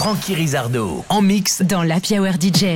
Frankie Rizardo, en mix dans l'Happy Hour DJ.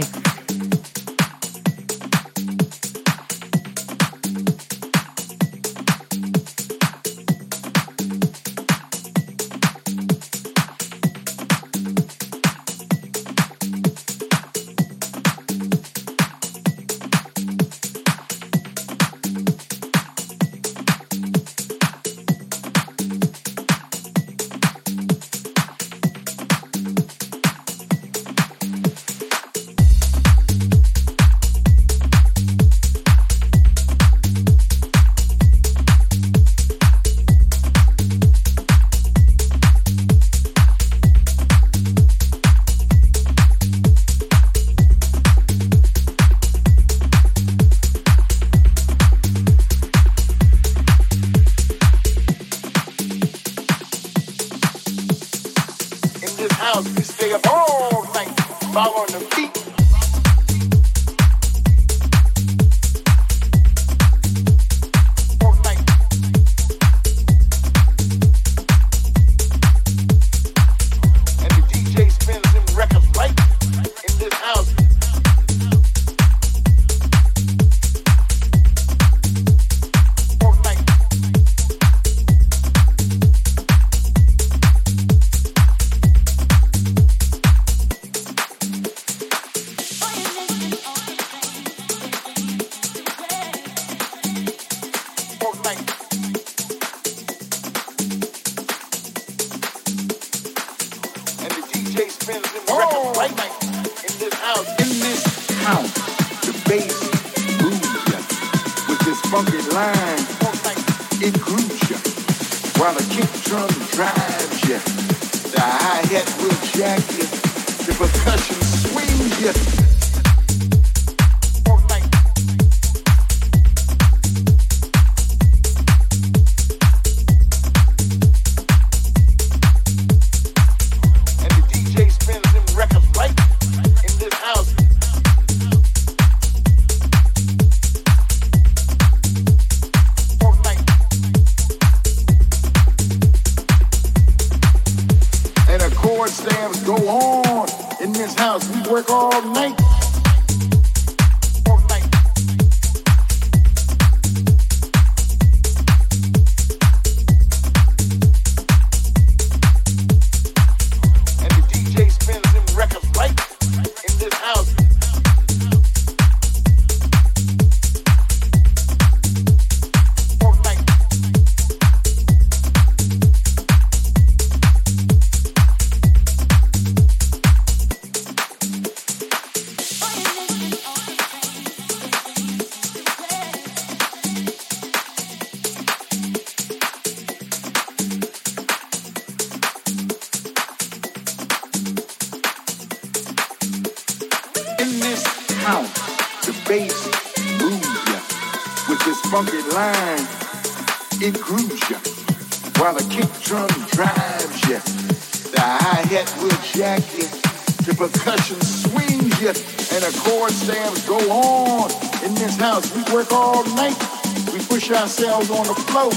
Ourselves on the floor.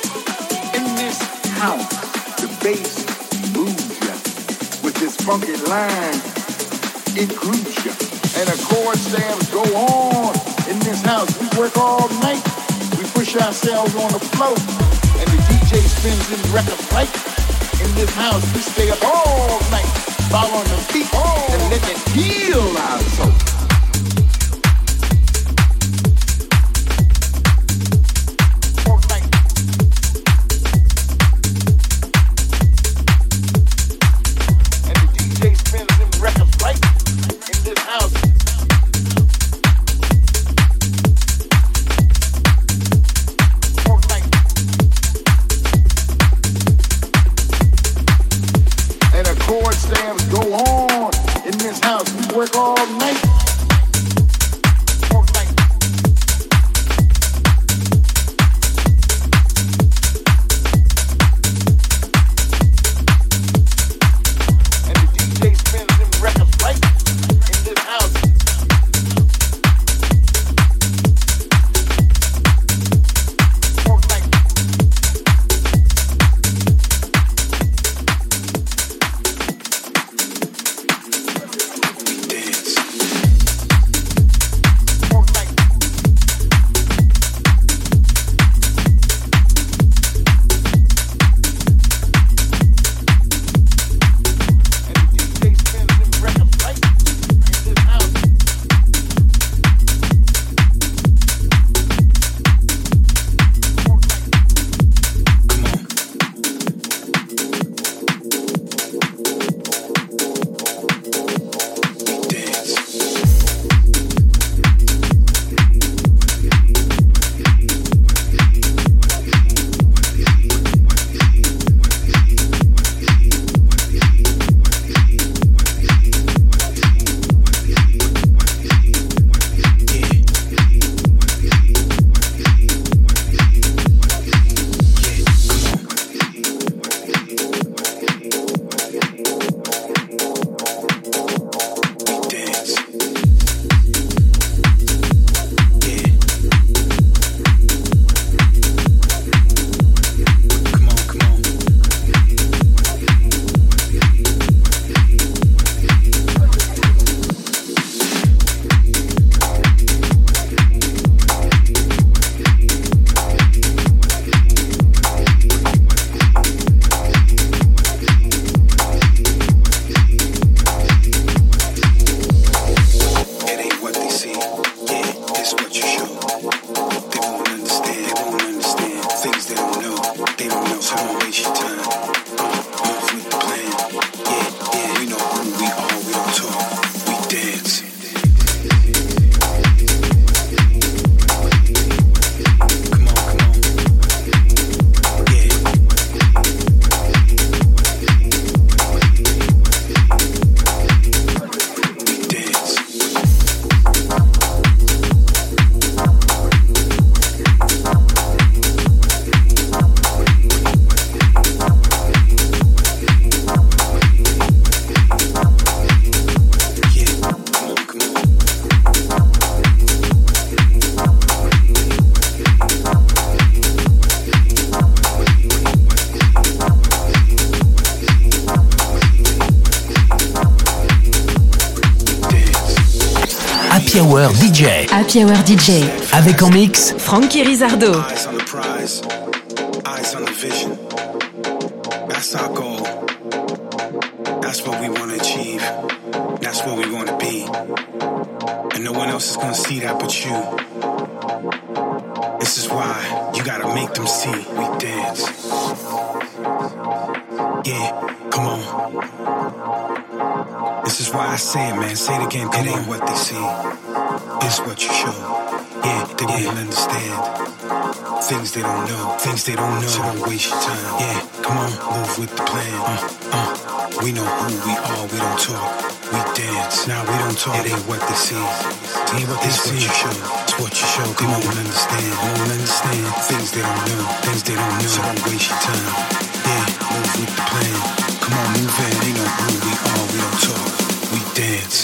In this house, the bass moves ya with this funky line. It grooves ya, and the chord stamps go on. In this house, we work all night. We push ourselves on the floor, and the DJ spins his record right. In this house, we stay up all night, following the beat and let it heal our soul. Happy Hour DJ. Happy Hour DJ. Avec en mix Frankie Rizardo. Eyes on the prize, eyes on the vision. That's our goal. That's what we want to achieve. That's where we want to be. And no one else is going to see that but you. This is why you got to make them see we dance. Yeah, come on. This is why I say it, man. Say it again. It ain't what they see. It's what you show. Yeah, they won't understand. Things they don't know. Things they don't know. So don't waste your time. Yeah, come on. Move with the plan. We know who we are. We don't talk. We dance. Now we don't talk. It ain't what they see. It ain't what they see. It's what you show. It's what you show. They won't understand. They won't understand. Things they don't know. Things they don't know. So don't waste your time. Yeah, move with the plan. Come on, move in. They know who we are. We don't talk. We dance.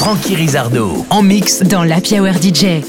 Frankie Rizardo en mix dans l'Happy Hour DJ.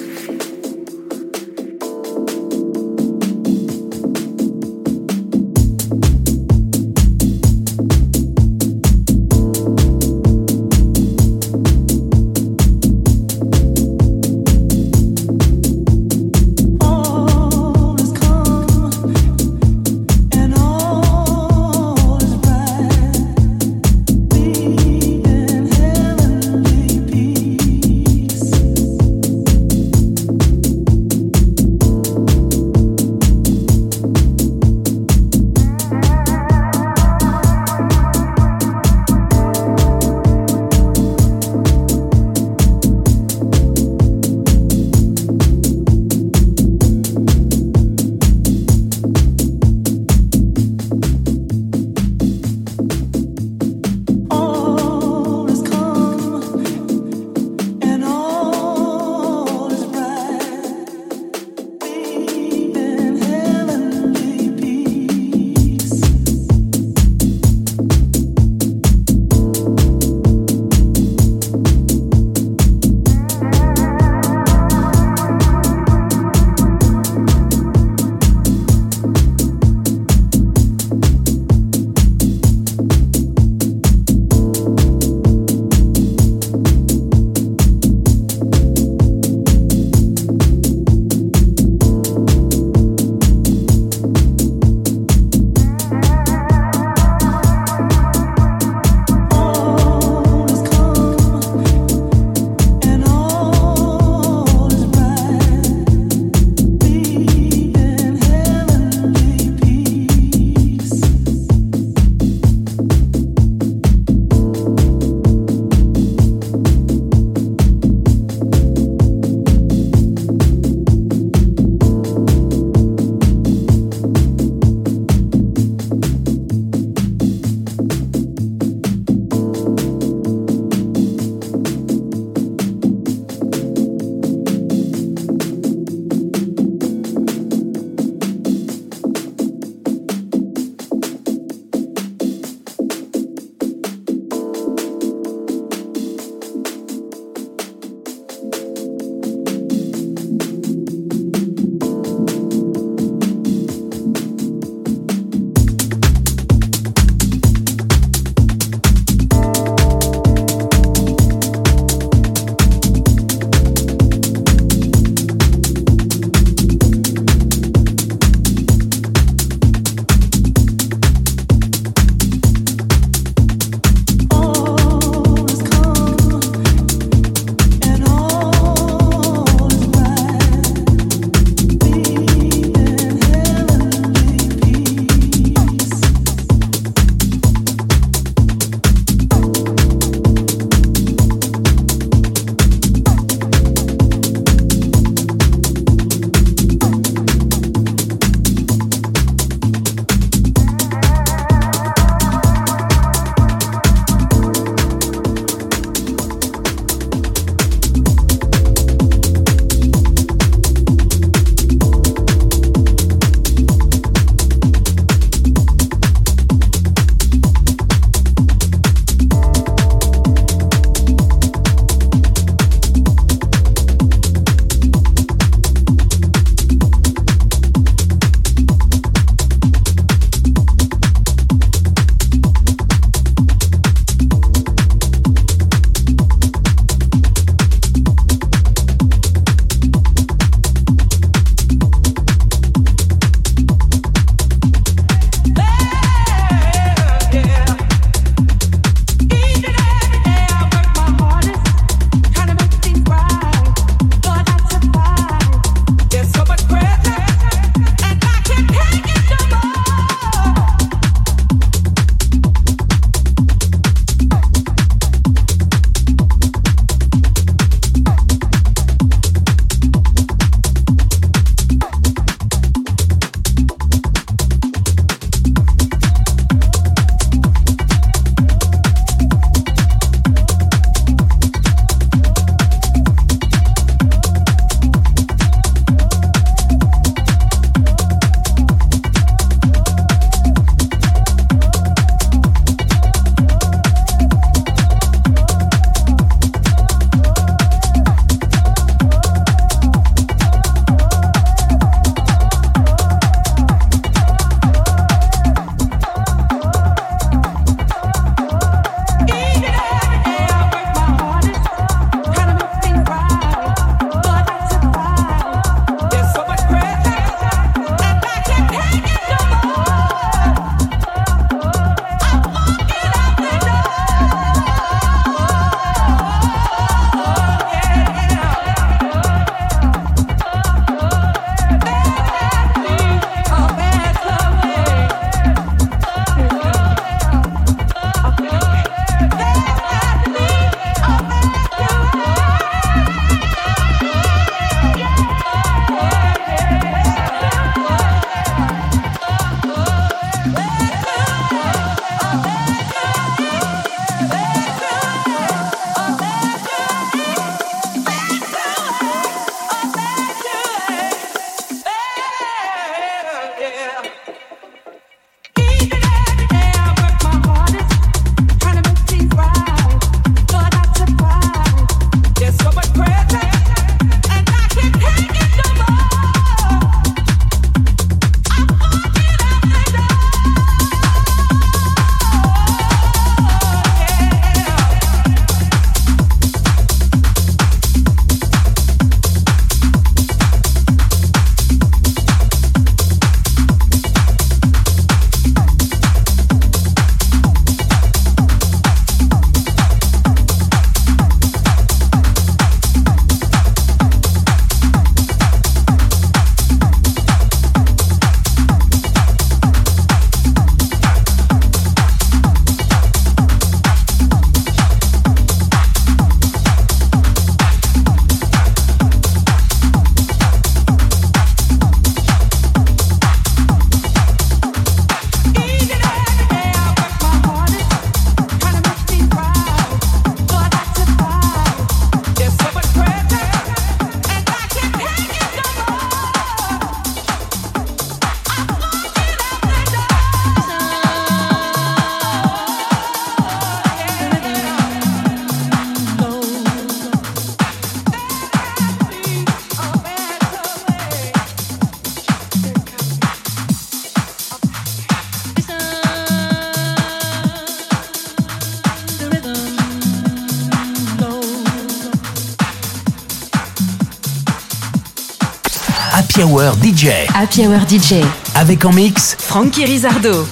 Happy Hour DJ. Happy Hour DJ. Avec en mix Frankie Rizardo.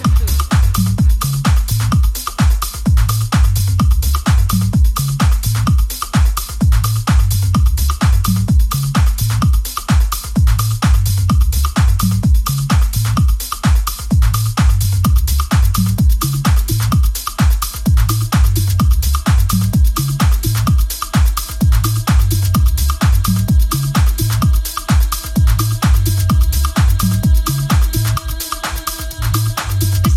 This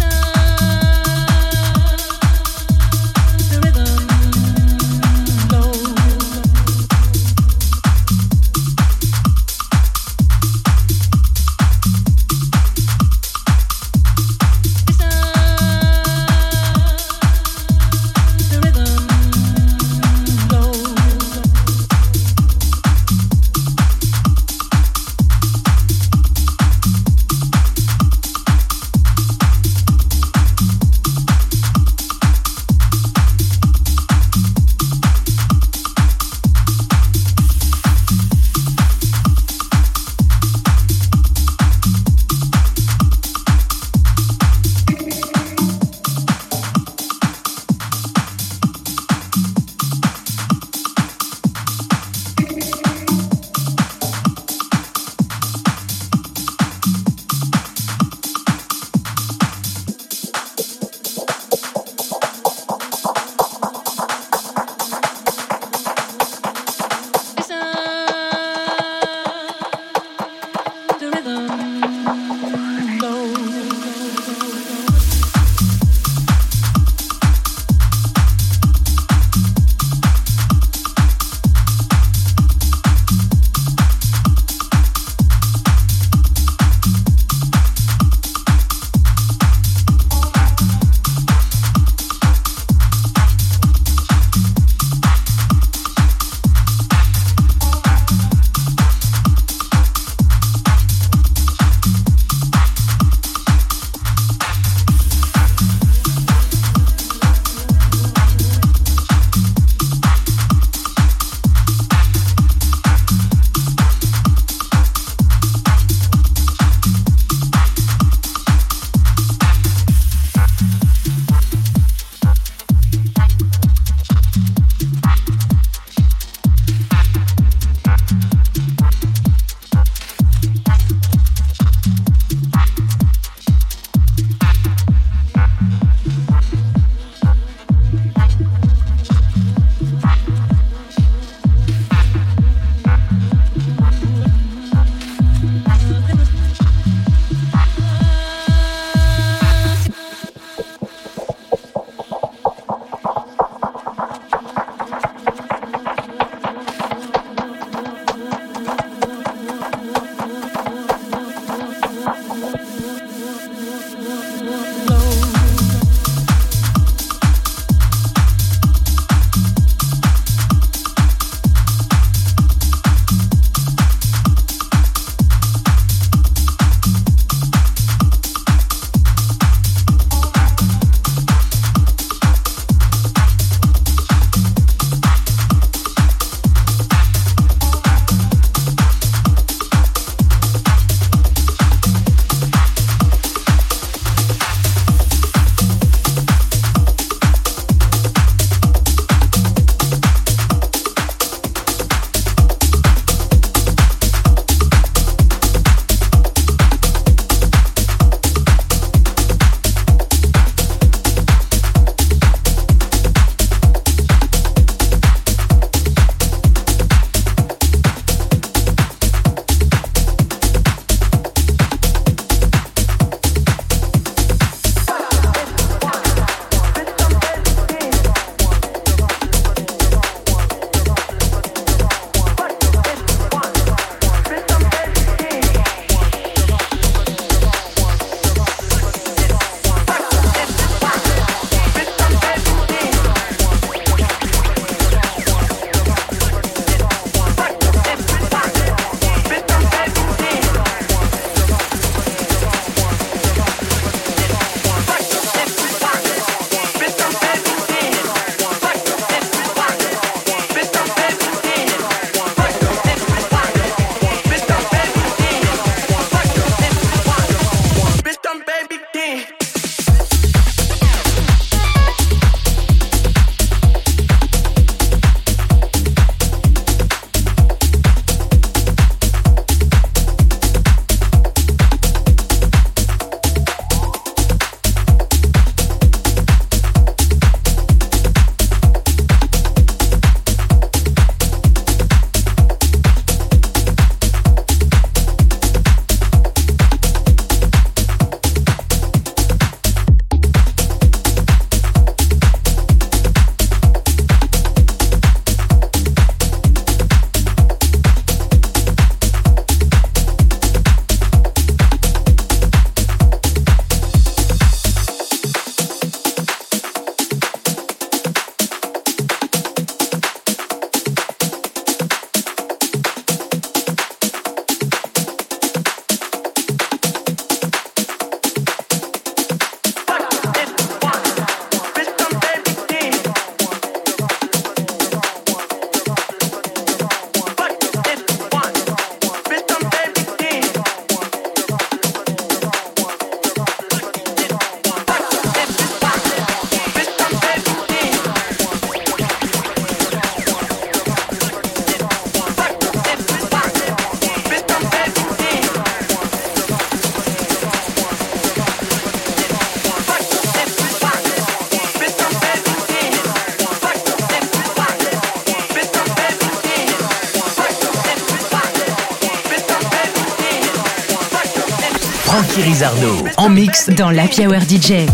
Frankie Rizardo en mix dans l'Happy Hour DJ.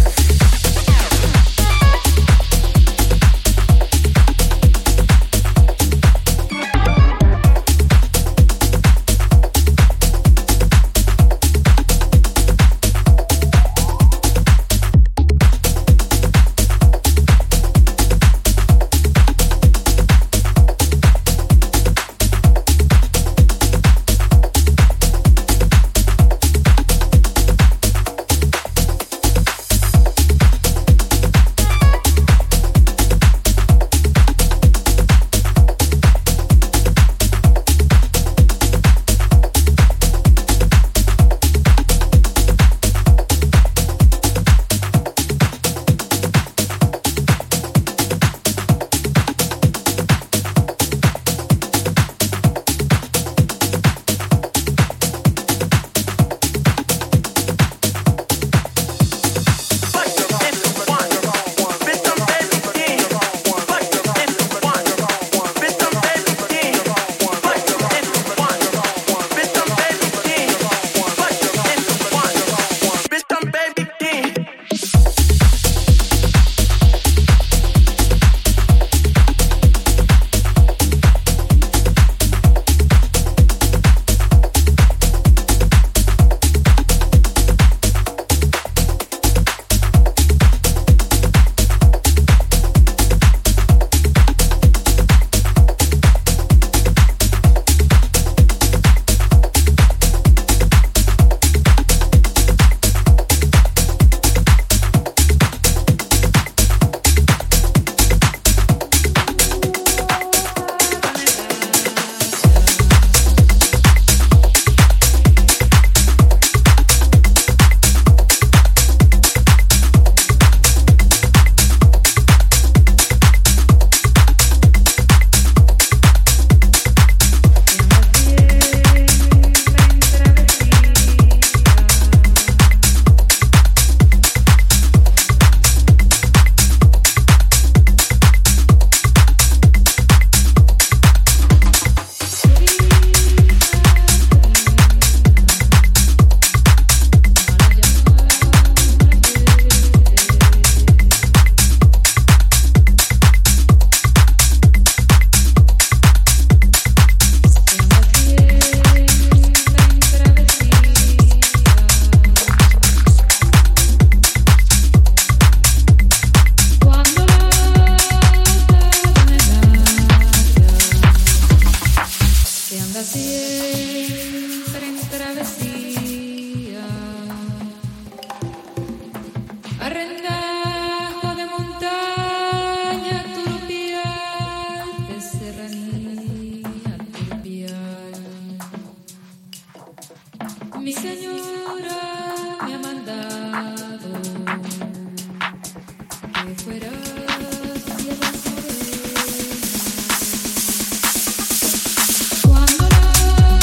Cuando la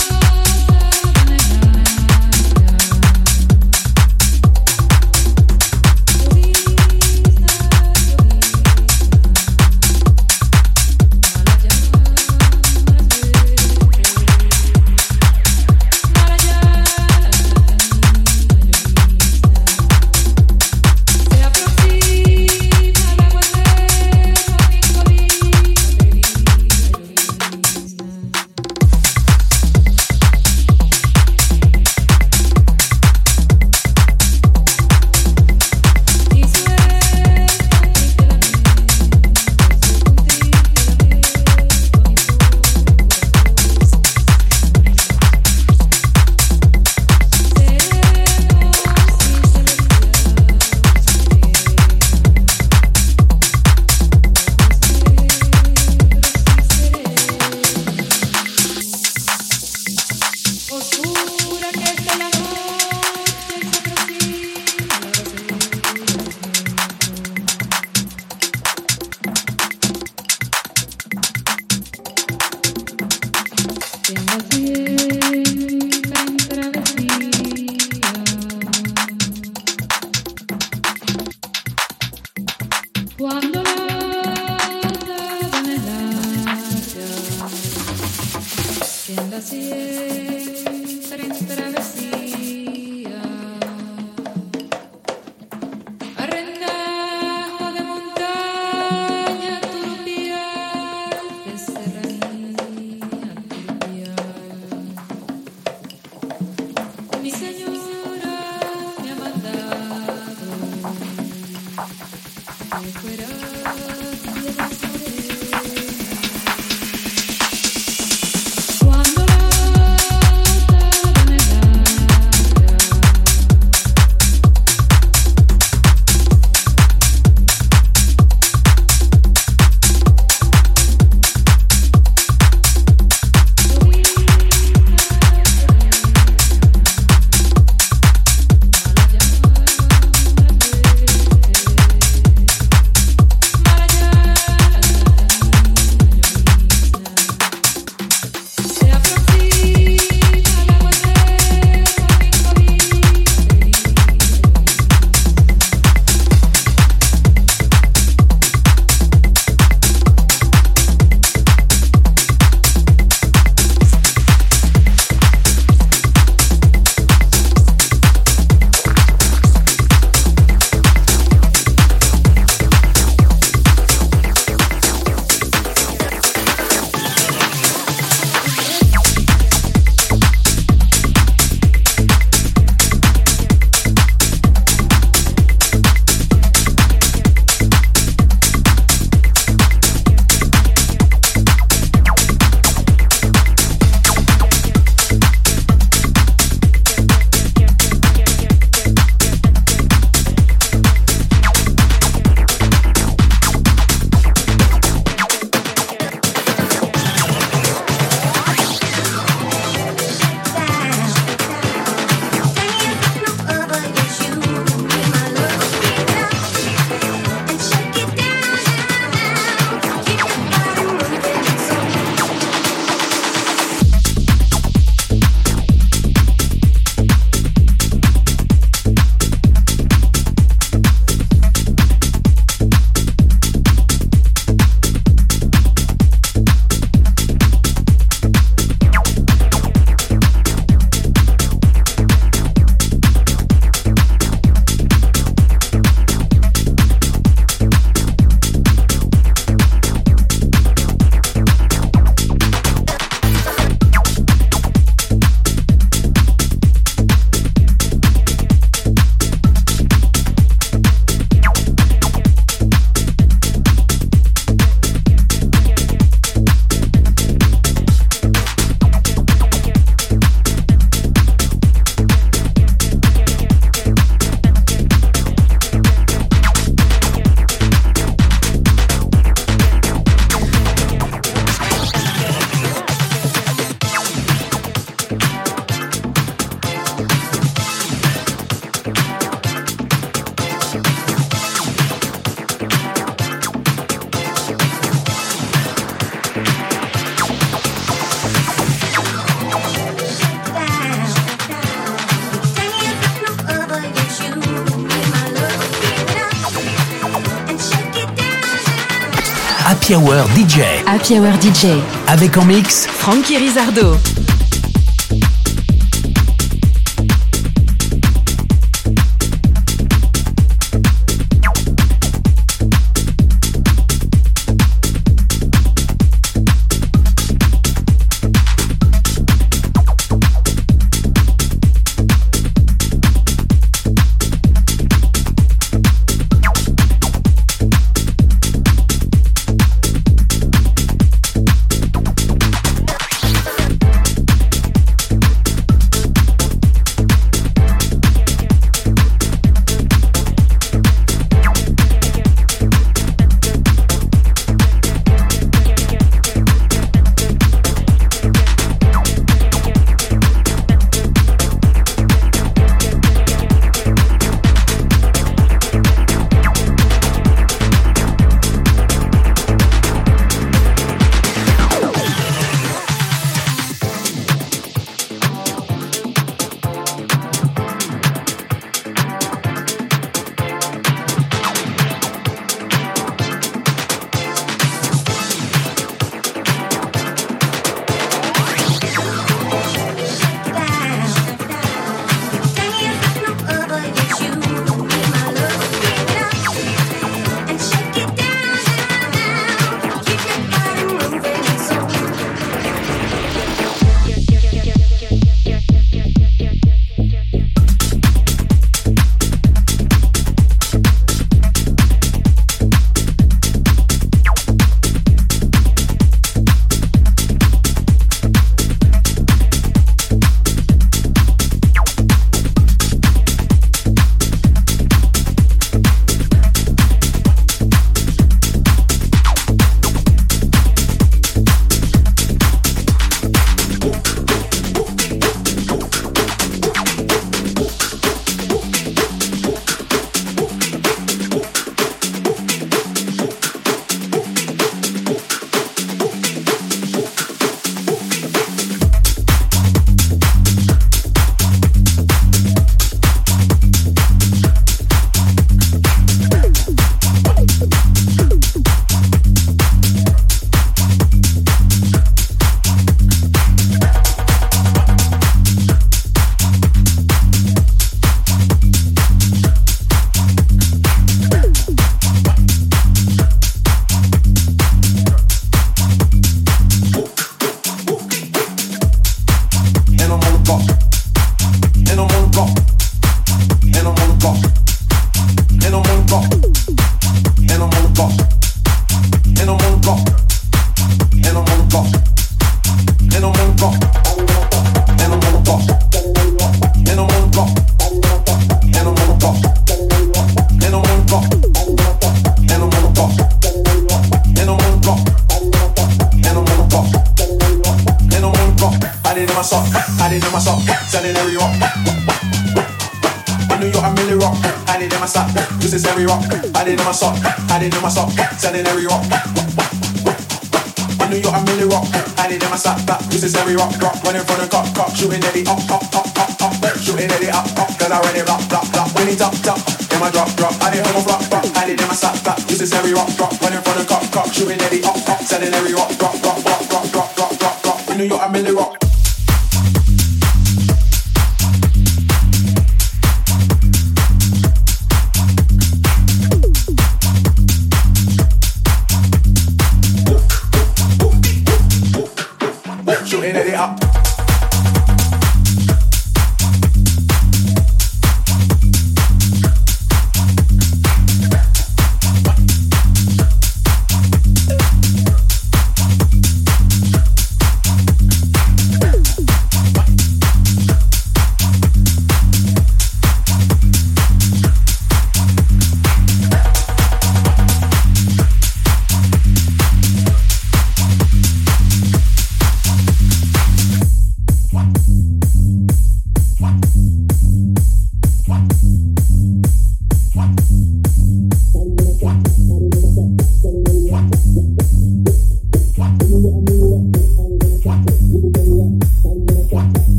Happy Hour DJ. Happy Hour DJ. Avec en mix Frankie Rizardo.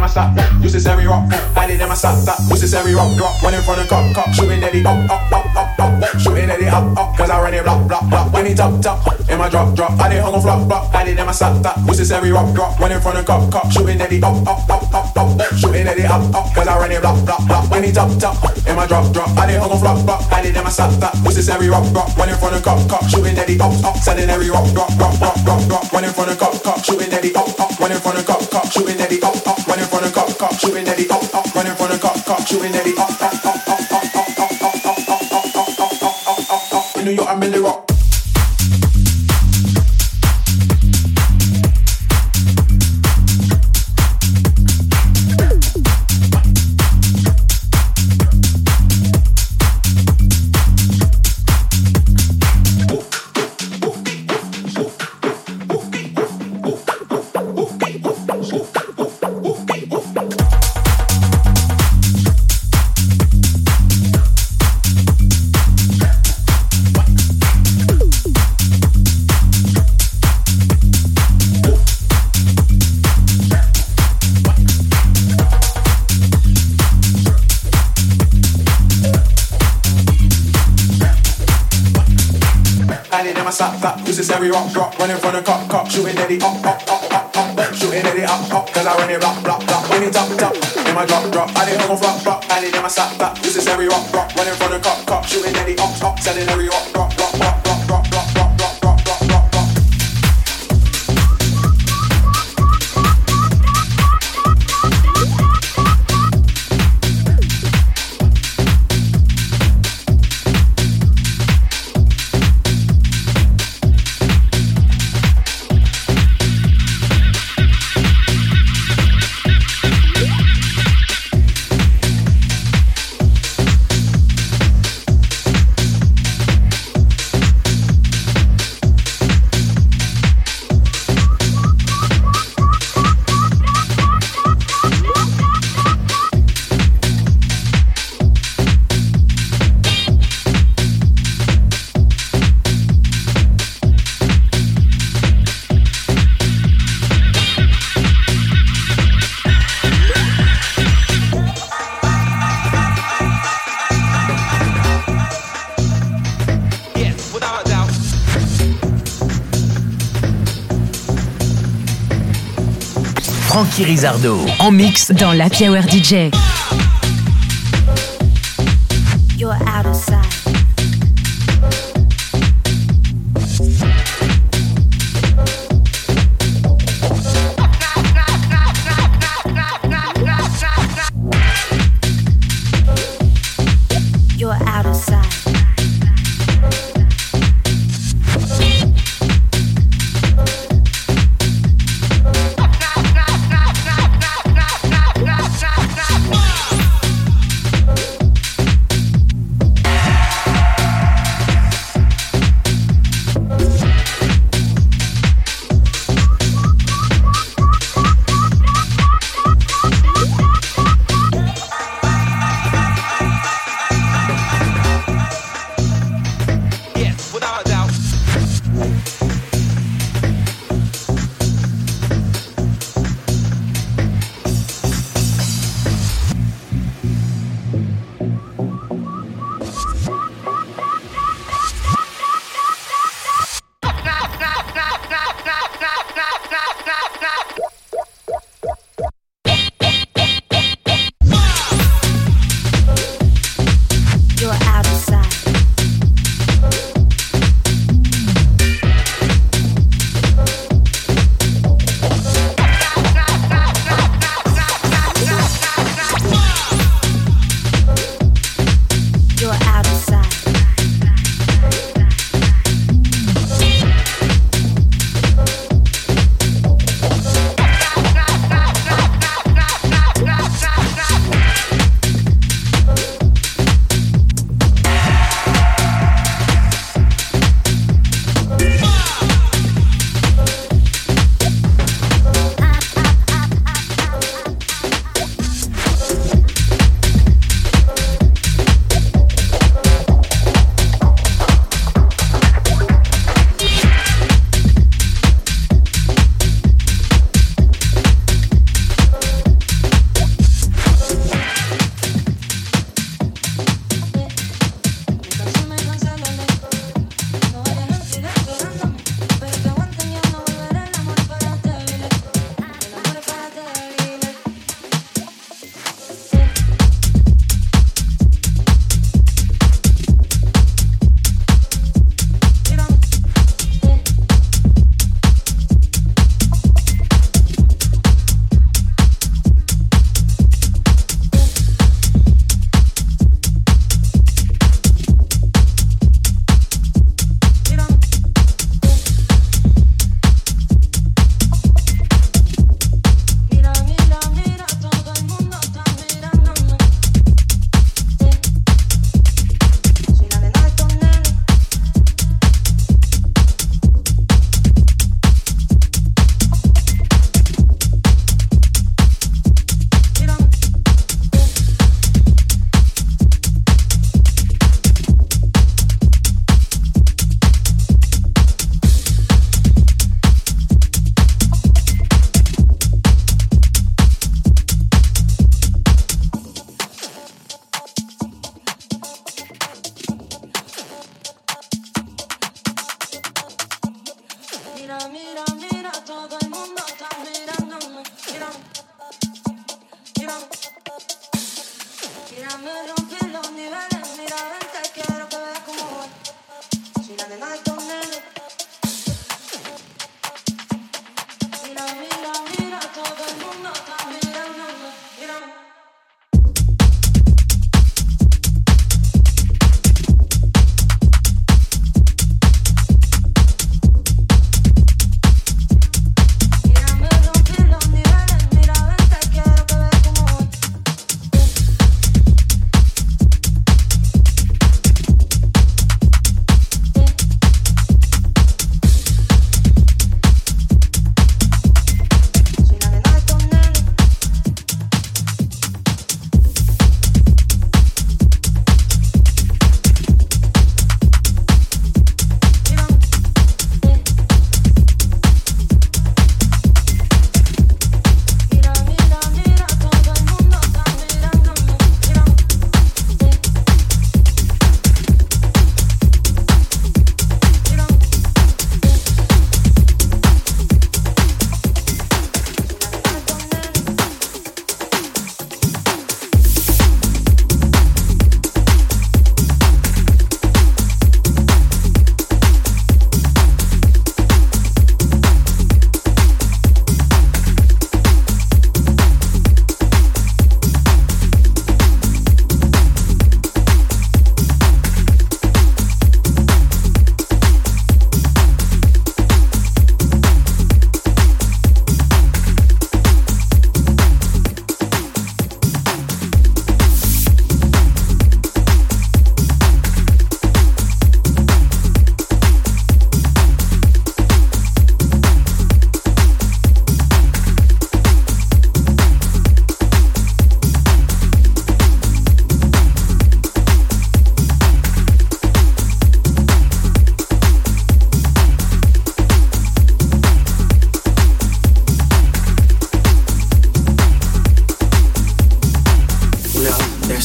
my stop. Used to say we rock, I did in my stop. Used to say we rock, drop. One in front of cop, shooting at it up. Shooting at it up, cause I run it block. When he top, in my drop. I did hung on flop, I did in my stop. Used to say we rock, drop. One in front of cop, shooting at it up. Shooting at it up, cause I run it block. When he top, in my drop. I did hung on flop, I did in my stop. Used to say we rock, drop. One in front of cop, shooting at it up. Selling every rock, drop. One in front of cop, shooting at it up. One in front of cop, shooting at it up. One in front of cop, shooting at it up. One in front of cop, shooting at it up. In New York, I'm in the rock. Used to say we rock, drop, one in front of cop, shooting at it up, shooting at it up, cause I run it block, when it top, in my drop, I did hung on flop, I did in my stop, used to say we rock, one in front of cop, shooting at it up, selling every rock, drop. Frankie Rizardo en mix dans l'Happy Hour DJ. You're out of sight. You're out of sight.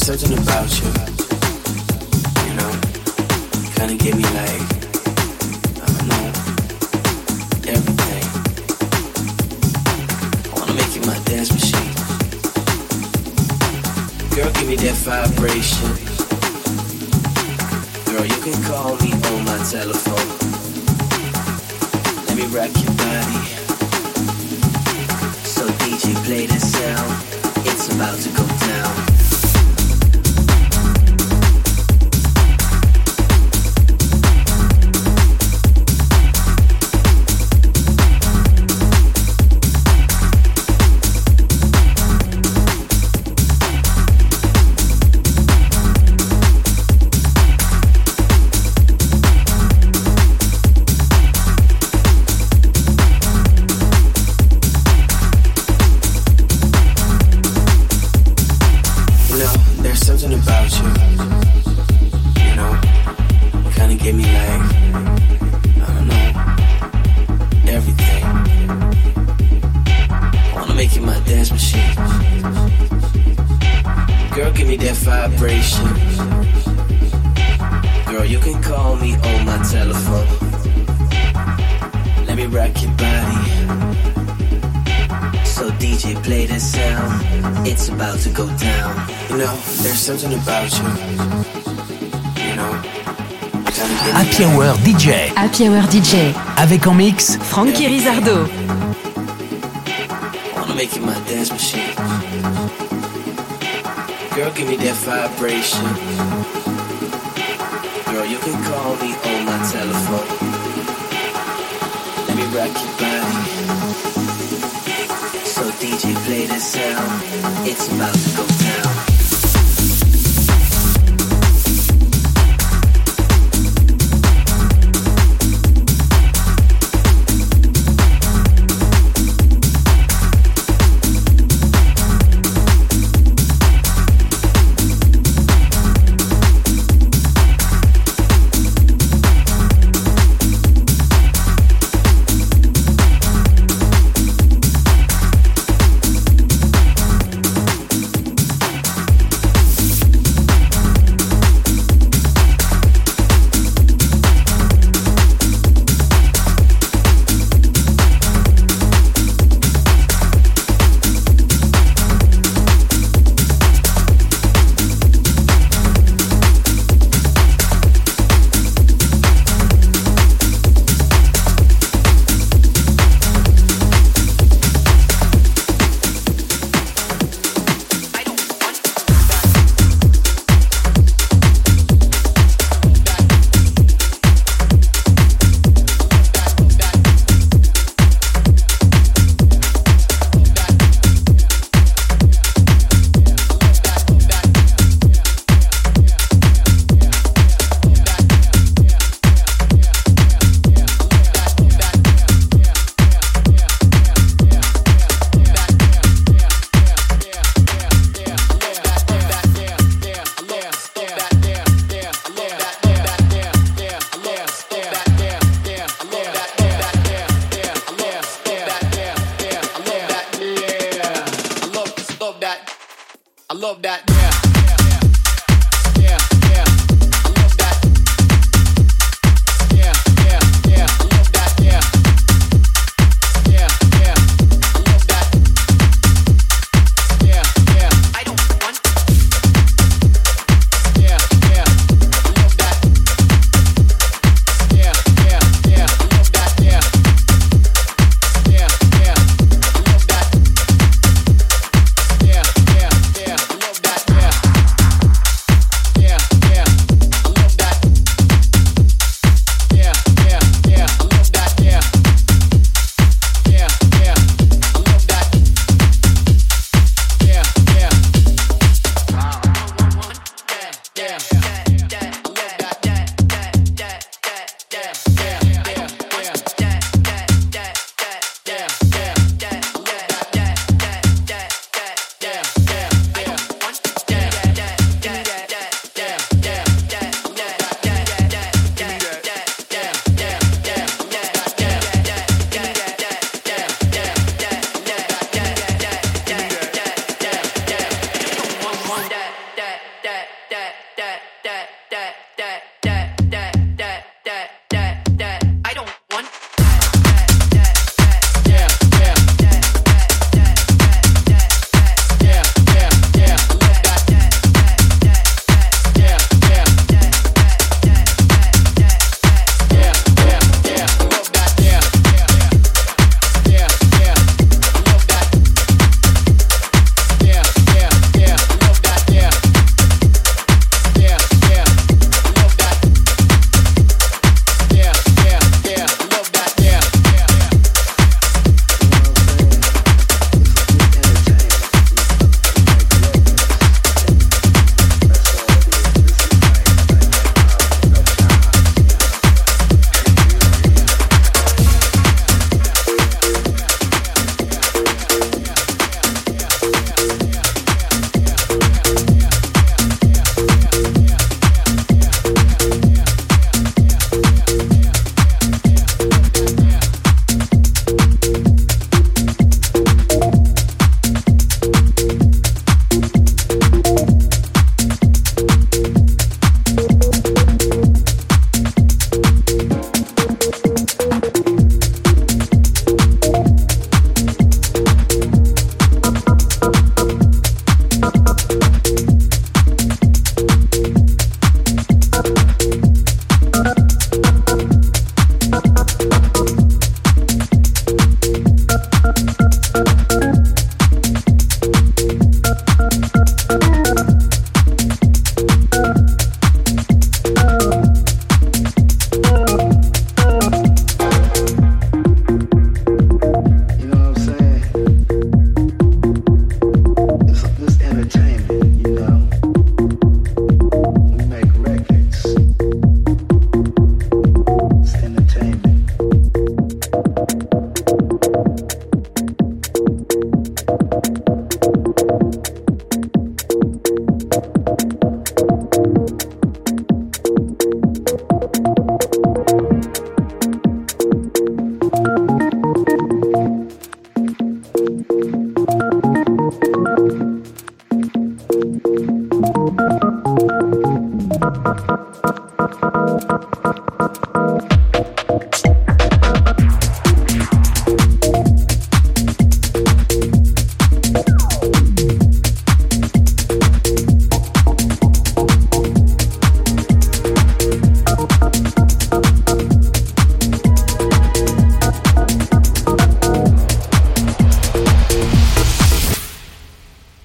something about you, you know, kinda give me like, I don't know, everything. I wanna make you my dance machine. Girl, give me that vibration. Girl, you can call me on my telephone. Let me rock your body. So DJ, play that sound. It's about to go down. Girl, you can call me on my telephone. Let me rock your body. So DJ, play that sound. It's about to go down. You know, there's something about you. You know, Happy Hour DJ. Happy Hour DJ. Avec en mix Frankie Rizardo. I wanna make you my dance machine. Girl, give me that vibration. Girl, you can call me on my telephone. Let me rock your body. So DJ, play that sound. It's about to go down.